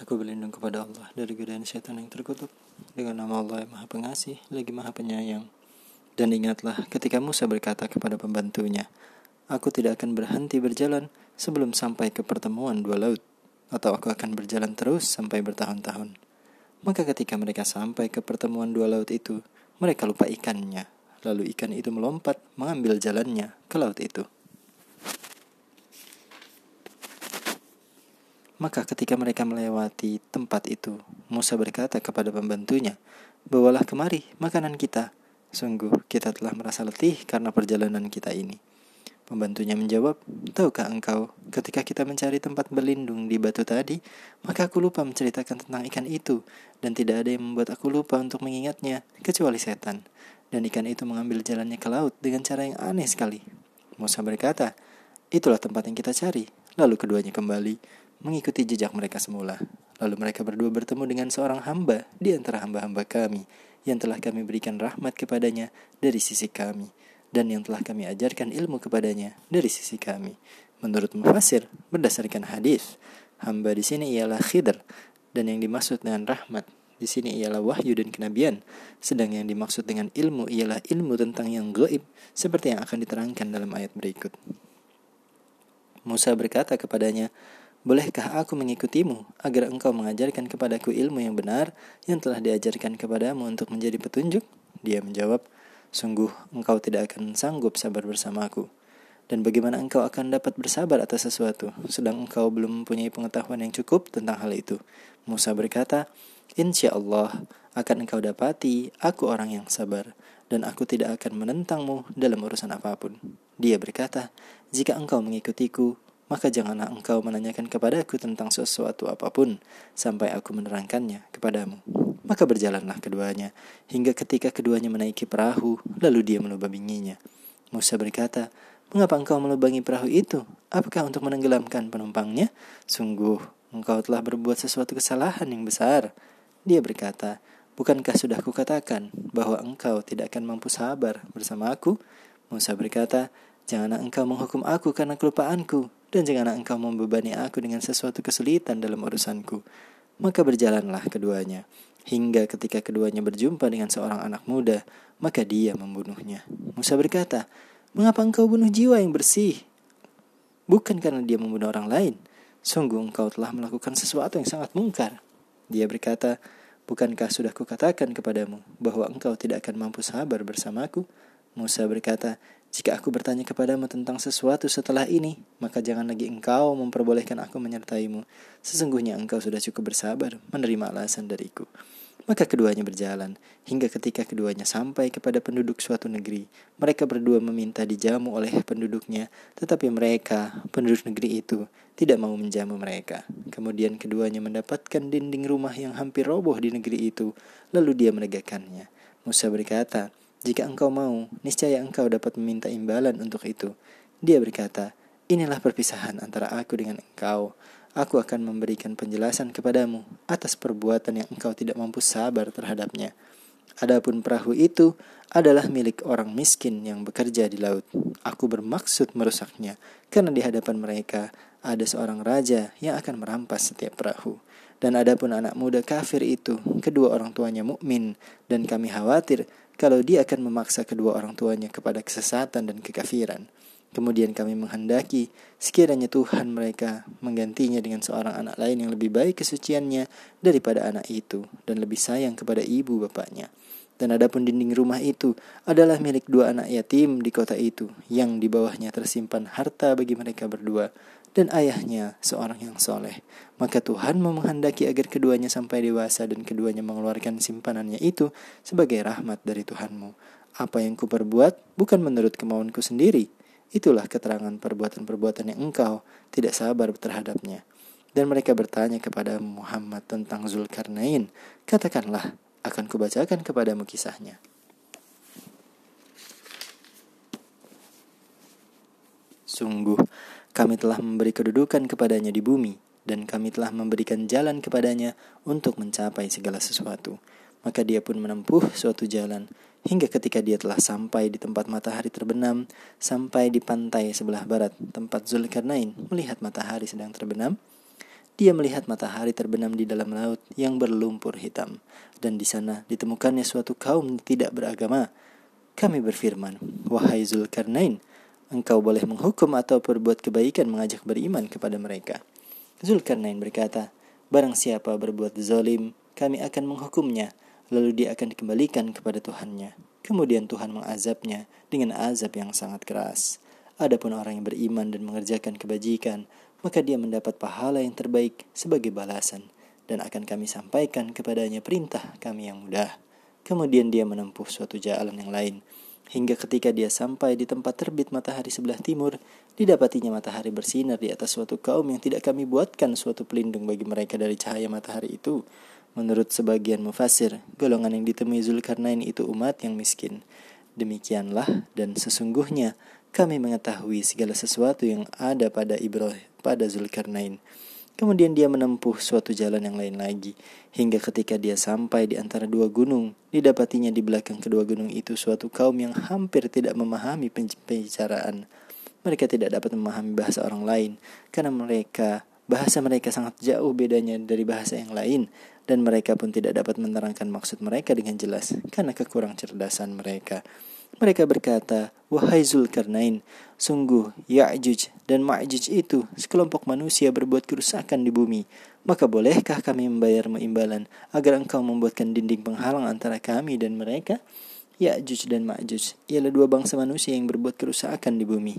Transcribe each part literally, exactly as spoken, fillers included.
Aku berlindung kepada Allah dari godaan syaitan yang terkutuk. Dengan nama Allah yang Maha Pengasih, lagi Maha Penyayang. Dan ingatlah ketika Musa berkata kepada pembantunya, "Aku tidak akan berhenti berjalan sebelum sampai ke pertemuan dua laut, atau aku akan berjalan terus sampai bertahun-tahun." Maka ketika mereka sampai ke pertemuan dua laut itu, mereka lupa ikannya. Lalu ikan itu melompat mengambil jalannya ke laut itu. Maka ketika mereka melewati tempat itu, Musa berkata kepada pembantunya, "Bawalah kemari makanan kita. Sungguh kita telah merasa letih karena perjalanan kita ini." Pembantunya menjawab, "Tahukah engkau, ketika kita mencari tempat berlindung di batu tadi, maka aku lupa menceritakan tentang ikan itu, dan tidak ada yang membuat aku lupa untuk mengingatnya, kecuali setan. Dan ikan itu mengambil jalannya ke laut dengan cara yang aneh sekali." Musa berkata, "Itulah tempat yang kita cari." Lalu keduanya kembali mengikuti jejak mereka semula. Lalu mereka berdua bertemu dengan seorang hamba di antara hamba-hamba kami, yang telah kami berikan rahmat kepadanya dari sisi kami, dan yang telah kami ajarkan ilmu kepadanya dari sisi kami. Menurut mufassir, berdasarkan hadis, hamba di sini ialah Khidr, dan yang dimaksud dengan rahmat di sini ialah wahyu dan kenabian, sedang yang dimaksud dengan ilmu ialah ilmu tentang yang gaib, seperti yang akan diterangkan dalam ayat berikut. Musa berkata kepadanya, "Bolehkah aku mengikutimu agar engkau mengajarkan kepadaku ilmu yang benar yang telah diajarkan kepadamu untuk menjadi petunjuk?" Dia menjawab, "Sungguh engkau tidak akan sanggup sabar bersamaku. Dan bagaimana engkau akan dapat bersabar atas sesuatu sedang engkau belum mempunyai pengetahuan yang cukup tentang hal itu?" Musa berkata, "Insya Allah akan engkau dapati aku orang yang sabar, dan aku tidak akan menentangmu dalam urusan apapun." Dia berkata, "Jika engkau mengikutiku, maka janganlah engkau menanyakan kepadaku tentang sesuatu apapun sampai aku menerangkannya kepadamu." Maka berjalanlah keduanya hingga ketika keduanya menaiki perahu, lalu dia melubanginya. Musa berkata, "Mengapa engkau melubangi perahu itu? Apakah untuk menenggelamkan penumpangnya? Sungguh engkau telah berbuat sesuatu kesalahan yang besar." Dia berkata, "Bukankah sudah kukatakan bahwa engkau tidak akan mampu sabar bersama aku?" Musa berkata, "Janganlah engkau menghukum aku karena kelupaanku, dan janganlah engkau membebani aku dengan sesuatu kesulitan dalam urusanku." Maka berjalanlah keduanya hingga ketika keduanya berjumpa dengan seorang anak muda, maka dia membunuhnya. Musa berkata, "Mengapa engkau bunuh jiwa yang bersih? Bukan karena dia membunuh orang lain. Sungguh engkau telah melakukan sesuatu yang sangat mungkar." Dia berkata, "Bukankah sudah kukatakan kepadamu bahwa engkau tidak akan mampu sabar bersamaku?" Musa berkata, "Jika aku bertanya kepadamu tentang sesuatu setelah ini, maka jangan lagi engkau memperbolehkan aku menyertaimu. Sesungguhnya engkau sudah cukup bersabar menerima alasan dariku." Maka keduanya berjalan hingga ketika keduanya sampai kepada penduduk suatu negeri. Mereka berdua meminta dijamu oleh penduduknya, tetapi mereka, penduduk negeri itu, tidak mau menjamu mereka. Kemudian keduanya mendapatkan dinding rumah yang hampir roboh di negeri itu, lalu dia menegakkannya. Musa berkata, "Jika engkau mau, niscaya engkau dapat meminta imbalan untuk itu." Dia berkata, "Inilah perpisahan antara aku dengan engkau. Aku akan memberikan penjelasan kepadamu atas perbuatan yang engkau tidak mampu sabar terhadapnya. Adapun perahu itu adalah milik orang miskin yang bekerja di laut. Aku bermaksud merusaknya, karena di hadapan mereka ada seorang raja yang akan merampas setiap perahu. Dan adapun anak muda kafir itu, kedua orang tuanya mukmin, dan kami khawatir kalau dia akan memaksa kedua orang tuanya kepada kesesatan dan kekafiran. Kemudian kami menghendaki sekiranya Tuhan mereka menggantinya dengan seorang anak lain yang lebih baik kesuciannya daripada anak itu, dan lebih sayang kepada ibu bapaknya. Dan adapun dinding rumah itu adalah milik dua anak yatim di kota itu, yang di bawahnya tersimpan harta bagi mereka berdua, dan ayahnya seorang yang soleh. Maka Tuhan menghendaki agar keduanya sampai dewasa, dan keduanya mengeluarkan simpanannya itu sebagai rahmat dari Tuhanmu. Apa yang kuperbuat bukan menurut kemauanku sendiri. Itulah keterangan perbuatan-perbuatan yang engkau tidak sabar terhadapnya." Dan mereka bertanya kepada Muhammad tentang Zulkarnain. Katakanlah, akan kubacakan kepadamu kisahnya. Sungguh, kami telah memberi kedudukan kepadanya di bumi, dan kami telah memberikan jalan kepadanya untuk mencapai segala sesuatu. Maka dia pun menempuh suatu jalan, hingga ketika dia telah sampai di tempat matahari terbenam, sampai di pantai sebelah barat, tempat Zulkarnain melihat matahari sedang terbenam. Dia melihat matahari terbenam di dalam laut yang berlumpur hitam, dan di sana ditemukannya suatu kaum tidak beragama. Kami berfirman, wahai Zulkarnain, engkau boleh menghukum atau berbuat kebaikan mengajak beriman kepada mereka. Zulkarnain berkata, barang siapa berbuat zalim, kami akan menghukumnya, lalu dia akan dikembalikan kepada Tuhannya. Kemudian Tuhan mengazabnya dengan azab yang sangat keras. Adapun orang yang beriman dan mengerjakan kebajikan, maka dia mendapat pahala yang terbaik sebagai balasan, dan akan kami sampaikan kepadanya perintah kami yang mudah. Kemudian dia menempuh suatu jalan yang lain, hingga ketika dia sampai di tempat terbit matahari sebelah timur, didapatinya matahari bersinar di atas suatu kaum yang tidak kami buatkan suatu pelindung bagi mereka dari cahaya matahari itu. Menurut sebagian mufassir, golongan yang ditemui Zulkarnain itu umat yang miskin. Demikianlah, dan sesungguhnya kami mengetahui segala sesuatu yang ada pada Ibrahim, pada Zulkarnain. Kemudian dia menempuh suatu jalan yang lain lagi, hingga ketika dia sampai di antara dua gunung, didapatinya di belakang kedua gunung itu suatu kaum yang hampir tidak memahami pembicaraan. Mereka tidak dapat memahami bahasa orang lain, karena mereka bahasa mereka sangat jauh bedanya dari bahasa yang lain, dan mereka pun tidak dapat menerangkan maksud mereka dengan jelas, karena kekurang cerdasan mereka. Mereka berkata, wahai Zulkarnain, sungguh Ya'juj dan Ma'juj itu sekelompok manusia berbuat kerusakan di bumi. Maka bolehkah kami membayarmu imbalan agar engkau membuatkan dinding penghalang antara kami dan mereka? Ya'juj dan Ma'juj ialah dua bangsa manusia yang berbuat kerusakan di bumi.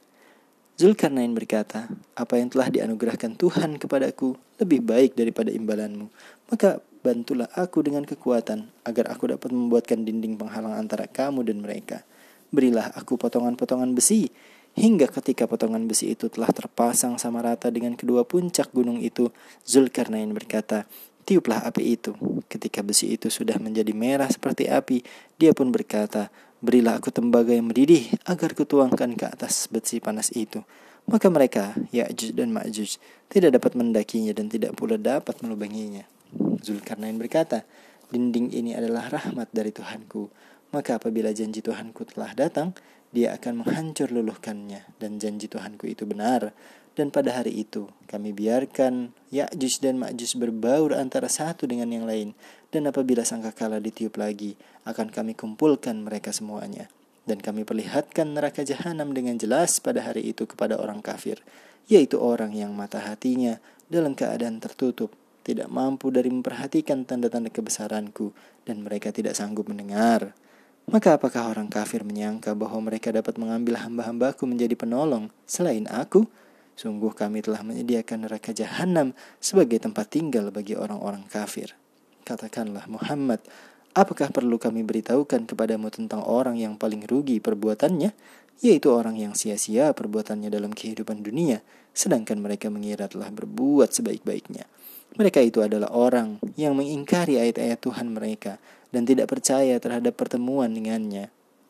Zulkarnain berkata, apa yang telah dianugerahkan Tuhan kepadaku lebih baik daripada imbalanmu. Maka bantulah aku dengan kekuatan, agar aku dapat membuatkan dinding penghalang antara kamu dan mereka. Berilah aku potongan-potongan besi, hingga ketika potongan besi itu telah terpasang sama rata dengan kedua puncak gunung itu, Zulkarnain berkata, tiuplah api itu. Ketika besi itu sudah menjadi merah seperti api, dia pun berkata, berilah aku tembaga yang mendidih, agar kutuangkan ke atas besi panas itu. Maka mereka, Ya'juj dan Ma'juj, tidak dapat mendakinya dan tidak pula dapat melubanginya. Zulkarnain berkata, dinding ini adalah rahmat dari Tuhanku, maka apabila janji Tuhanku telah datang, dia akan menghancur luluhkannya, dan janji Tuhanku itu benar. Dan pada hari itu, kami biarkan Ya'juj dan Ma'juj berbaur antara satu dengan yang lain, dan apabila sangkakala ditiup lagi, akan kami kumpulkan mereka semuanya. Dan kami perlihatkan neraka jahanam dengan jelas pada hari itu kepada orang kafir, yaitu orang yang mata hatinya dalam keadaan tertutup, tidak mampu dari memperhatikan tanda-tanda kebesaranku, dan mereka tidak sanggup mendengar. Maka apakah orang kafir menyangka bahwa mereka dapat mengambil hamba-hambaku menjadi penolong selain aku? Sungguh kami telah menyediakan neraka jahanam sebagai tempat tinggal bagi orang-orang kafir. Katakanlah Muhammad, apakah perlu kami beritahukan kepadamu tentang orang yang paling rugi perbuatannya, yaitu orang yang sia-sia perbuatannya dalam kehidupan dunia, sedangkan mereka mengira telah berbuat sebaik-baiknya. Mereka itu adalah orang yang mengingkari ayat-ayat Tuhan mereka dan tidak percaya terhadap pertemuan dengannya.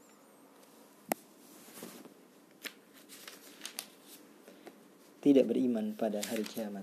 Tidak beriman pada hari kiamat.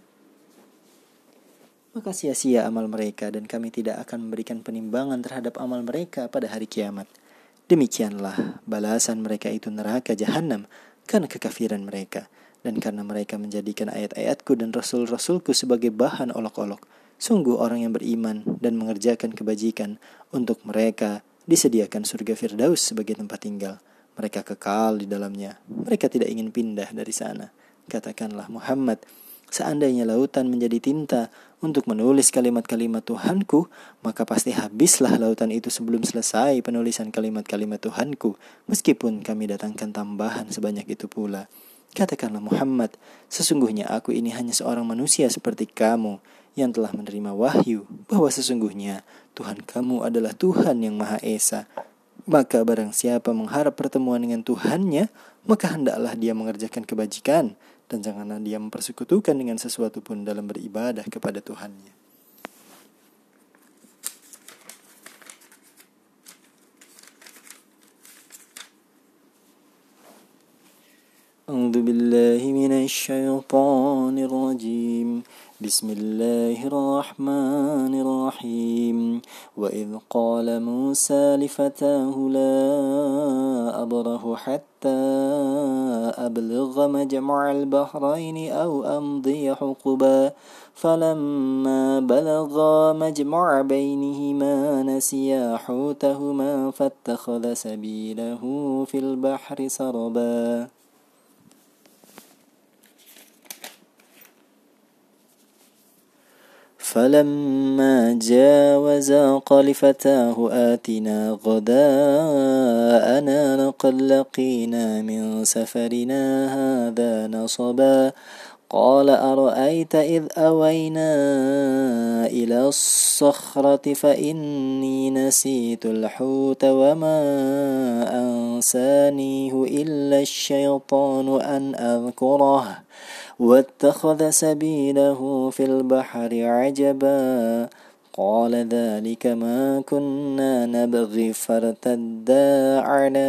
Maka sia-sia amal mereka, dan kami tidak akan memberikan penimbangan terhadap amal mereka pada hari kiamat. Demikianlah balasan mereka itu neraka jahanam karena kekafiran mereka, dan karena mereka menjadikan ayat-ayatku dan rasul-rasulku sebagai bahan olok-olok. Sungguh orang yang beriman dan mengerjakan kebajikan, untuk mereka disediakan surga Firdaus sebagai tempat tinggal. Mereka kekal di dalamnya, mereka tidak ingin pindah dari sana. Katakanlah Muhammad, seandainya lautan menjadi tinta untuk menulis kalimat-kalimat Tuhanku, maka pasti habislah lautan itu sebelum selesai penulisan kalimat-kalimat Tuhanku, meskipun kami datangkan tambahan sebanyak itu pula. Katakanlah Muhammad, sesungguhnya aku ini hanya seorang manusia seperti kamu, yang telah menerima wahyu bahwa sesungguhnya Tuhan kamu adalah Tuhan yang Maha Esa. Maka barang siapa mengharap pertemuan dengan Tuhannya, maka hendaklah dia mengerjakan kebajikan, dan janganlah dia mempersekutukan dengan sesuatu pun dalam beribadah kepada Tuhannya. A'udzu billahi minasy syaithanir rajim. بسم الله الرحمن الرحيم وإذ قال موسى لفتاه لا أبرح حتى أبلغ مجمع البحرين أو أمضي حقبا فلما بلغا مجمع بينهما نسيا حوتهما فاتخذ سبيله في البحر سربا فلما جاوزا قال فتاه آتنا غداءنا لقد لقينا من سفرنا هذا نصبا قال أرأيت إذ أوينا إلى الصخرة فإني نسيت الحوت وما أنسانيه إلا الشيطان أن أذكره واتخذ سبيله في البحر عجبا قال ذلك ما كنا نبغي فارتدا على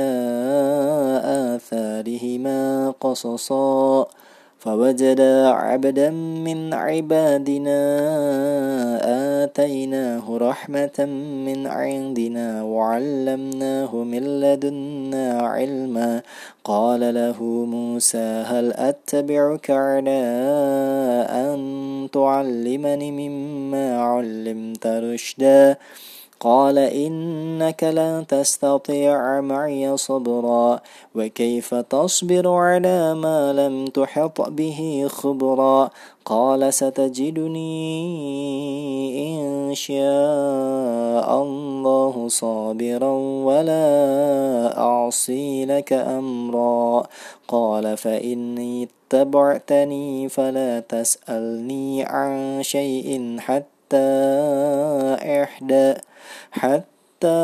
آثارهما قصصا فوجدا عبدا من عبادنا آتيناه رحمة من عندنا وعلمناه من لدنا علما قال له موسى هل أتبعك على أن تعلمني مما علمت رشدا قال إنك لن تستطيع معي صبرا وكيف تصبر على ما لم تحط به خبرا قال ستجدني إن شاء الله صابرا ولا أعصي لك أمرا قال فإني اتبعتني فلا تسألني عن شيء حتى إحدى حتى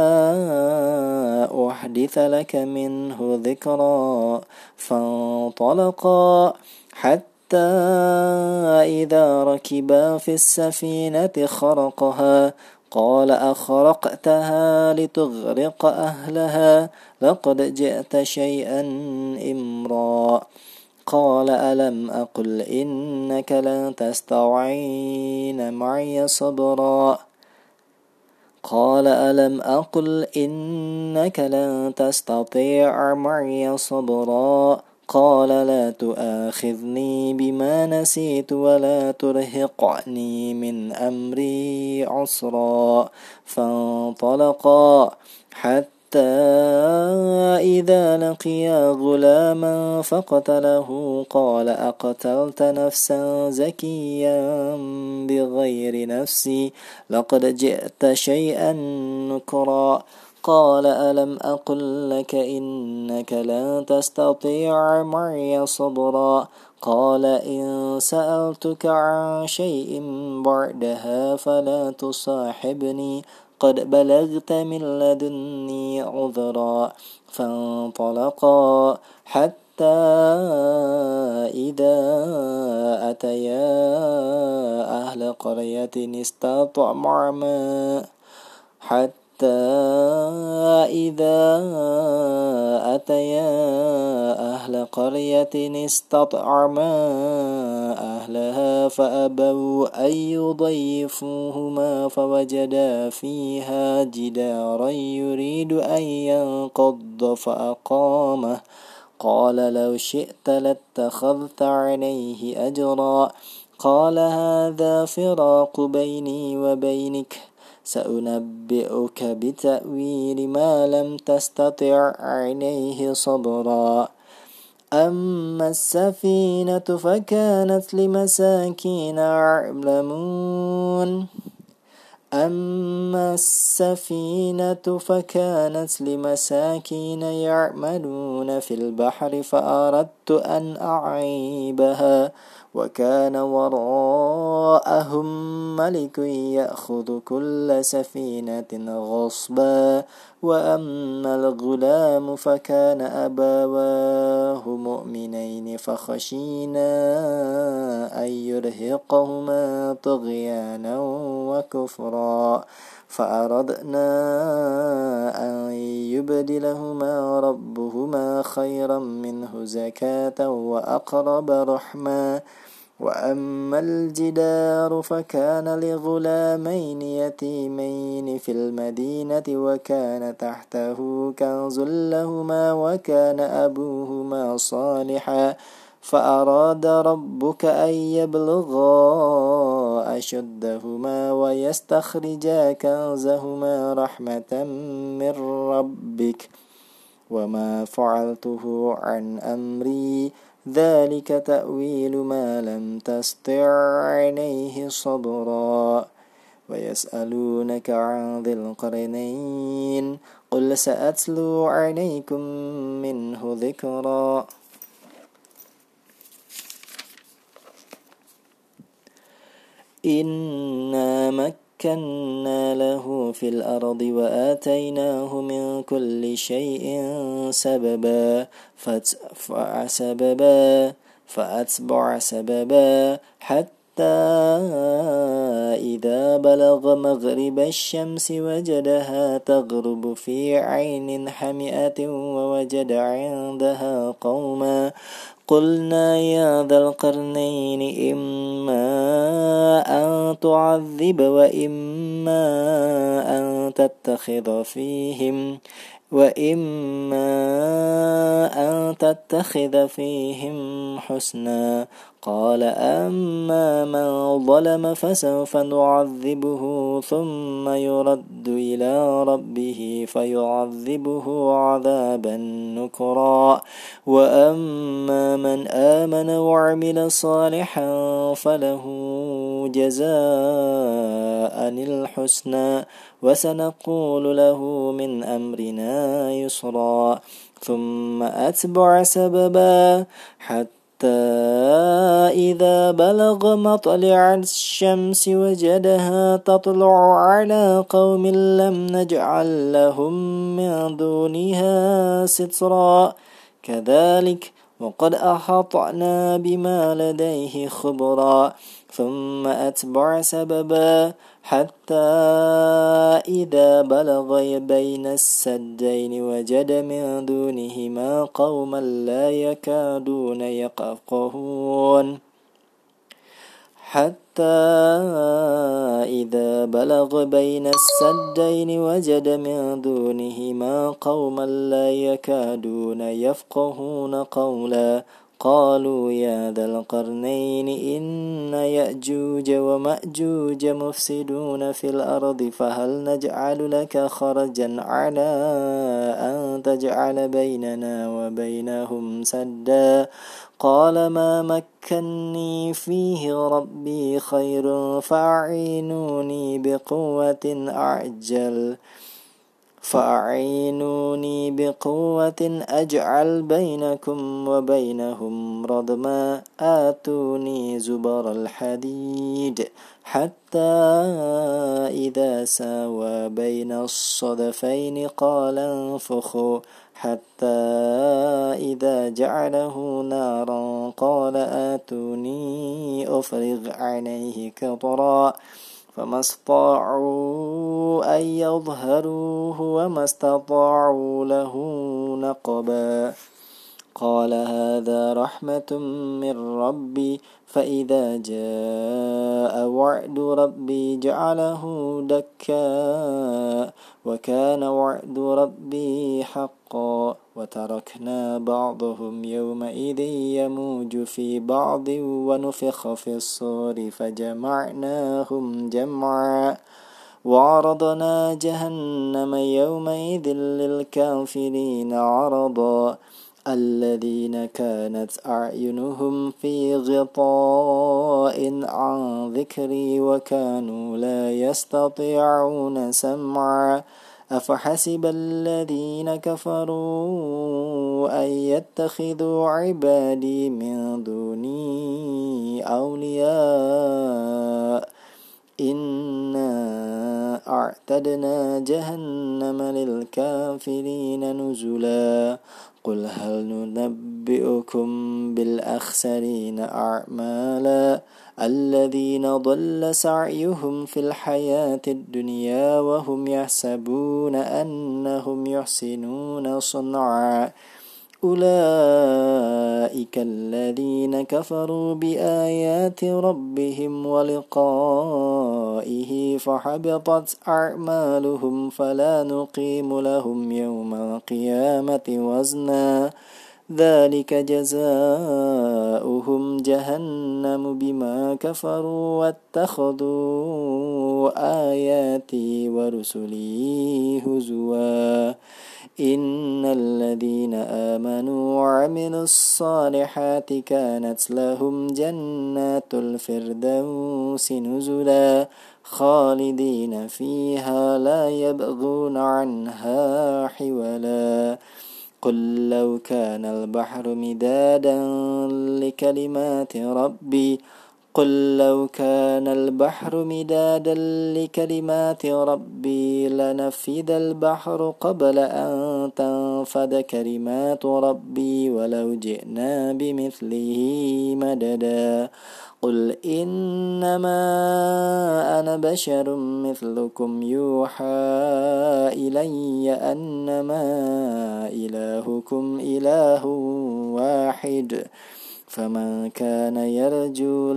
أحدث لك منه ذكرا فانطلقا حتى إذا ركبا في السفينة خرقها قال أخرقتها لتغرق أهلها لقد جئت شيئا إمرا قال ألم أقل إنك لن تستعين معي صبرا قال ألم أقل إنك لن تستطيع معي صبرا قال لا تؤاخذني بما نسيت ولا ترهقني من أمري عسرا فانطلقا حتى إذا لقيا غلاما فقتله قال أقتلت نفسا زكيا بغير نفس لقد جئت شيئا نكرا قال ألم أقل لك إنك لن تستطيع معي صبرا قال إن سألتك عن شيء بعدها فلا تصاحبني قد بلغت من لدني عذرا فانطلقا حتى إذا أتيا أهل قرية استطعما حتى إذا أتيا أهل قرية استطعما أهلها فأبوا أن يضيفوهما فوجدا فيها جدارا يريد أن ينقض فأقامه قال لو شئت لاتخذت عليه أجرا قال هذا فراق بيني وبينك سأنبئك بتأويل ما لم تستطع عليه صبرا أما السفينة فكانت لمساكين يعلمون أما السفينة فكانت لمساكين يعملون في البحر فأردت أن أعيبها وكان وراءهم ملك يأخذ كل سفينة غصبا وأما الغلام فكان أبواه مؤمنين فخشينا أن يرهقهما طغيانا وكفرا فأردنا أن يبدلهما ربهما خيرا منه زكاة وأقرب رحما وأما الجدار فكان لغلامين يتيمين في المدينة وكان تحته كنز لهما وكان أبوهما صالحا فأراد ربك أن يبلغا أشدهما ويستخرجا كنزهما رحمة من ربك وما فعلته عن أمري ذلك تأويل ما لم تستطع عليه صبرا ويسألونك عن ذي القرنين قل سأتلو عليكم منه ذكرا إنا مكنا له في الأرض وآتيناه من كل شيء سببا فأتبع سببا فأتبع سببا حتى إذا بلغ مغرب الشمس وجدها تغرب في عين حمئة ووجد عندها قوما قلنا يا ذا القرنين إما أن تعذب وإما أن تتخذ فيهم وإما أن تتخذ فيهم حسنا قال أما من ظلم فسوف نعذبه ثم يرد إلى ربه فيعذبه عذابا نكرا وأما من آمن وعمل صالحا فله جزاء الحسنى وسنقول له من أمرنا يسرا ثم أتبع سببا حتى إذا بلغ مطلع الشمس وجدها تطلع على قوم لم نجعل لهم من دونها سترا كذلك وقد أحطنا بما لديه خبرا ثم أتبع سببا حتى إذا بلغ بين السدين وجد من دونهما قوما لا يكادون يفقهون حتى إذا بلغ بين السدين وجد من دونهما قوما لا يكادون يفقهون قولا قالوا يا ذا القرنين إن يأجوج ومأجوج مفسدون في الأرض فهل نجعل لك خرجا على أن تجعل بيننا وبينهم سدا قال ما مكني فيه ربي خير فأعينوني بقوة أعجل فأعينوني بقوة أجعل بينكم وبينهم ردما آتوني زبر الحديد حتى إذا ساوى بين الصدفين قال انفخوا حتى إذا جعله نارا قال آتوني أفرغ عليه قطرا فما استطاعوا أن يظهروه وما استطاعوا له نقبا قال هذا رحمة من ربي فإذا جاء وعد ربي جعله دكا وكان وعد ربي حقا وتركنا بعضهم يومئذ يموج في بعض ونفخ في الصور فجمعناهم جمعا وعرضنا جهنم يومئذ للكافرين عرضا الذين كانت أعينهم في غطاء عن ذكري وكانوا لا يستطيعون سمعا أفحسب الذين كفروا أن يتخذوا عبادي من دوني أولياء إنا أعتدنا جهنم للكافرين نزلا قل هل ننبئكم بالأخسرين أعمالا الذين ضل سعيهم في الحياة الدنيا وهم يحسبون أنهم يحسنون صنعا أولئك الذين كفروا بآيات ربهم ولقائه فحبطت أعمالهم فلا نقيم لهم يوم القيامة وزنا ذلك جزاؤهم جهنم بما كفروا واتخذوا آياتي ورسلي هزوا إن الذين آمنوا وعملوا الصالحات كانت لهم جنات الفردوس نزلا خالدين فيها لا يبغون عنها حولا قل لو كان البحر مدادا لكلمات ربي قل لو كان البحر مدادا لكلمات ربي لنفد البحر قبل أن تنفد كلمات ربي ولو جئنا بمثله مددا قل إنما أنا بشر مثلكم يوحى إلي أنما إلهكم إله واحد فمن كان يرجو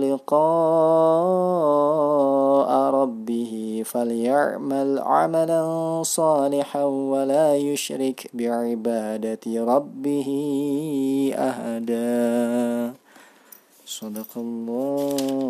لقاء ربه فليعمل عملا صالحا ولا يشرك بعبادة ربه أحدا. صدق الله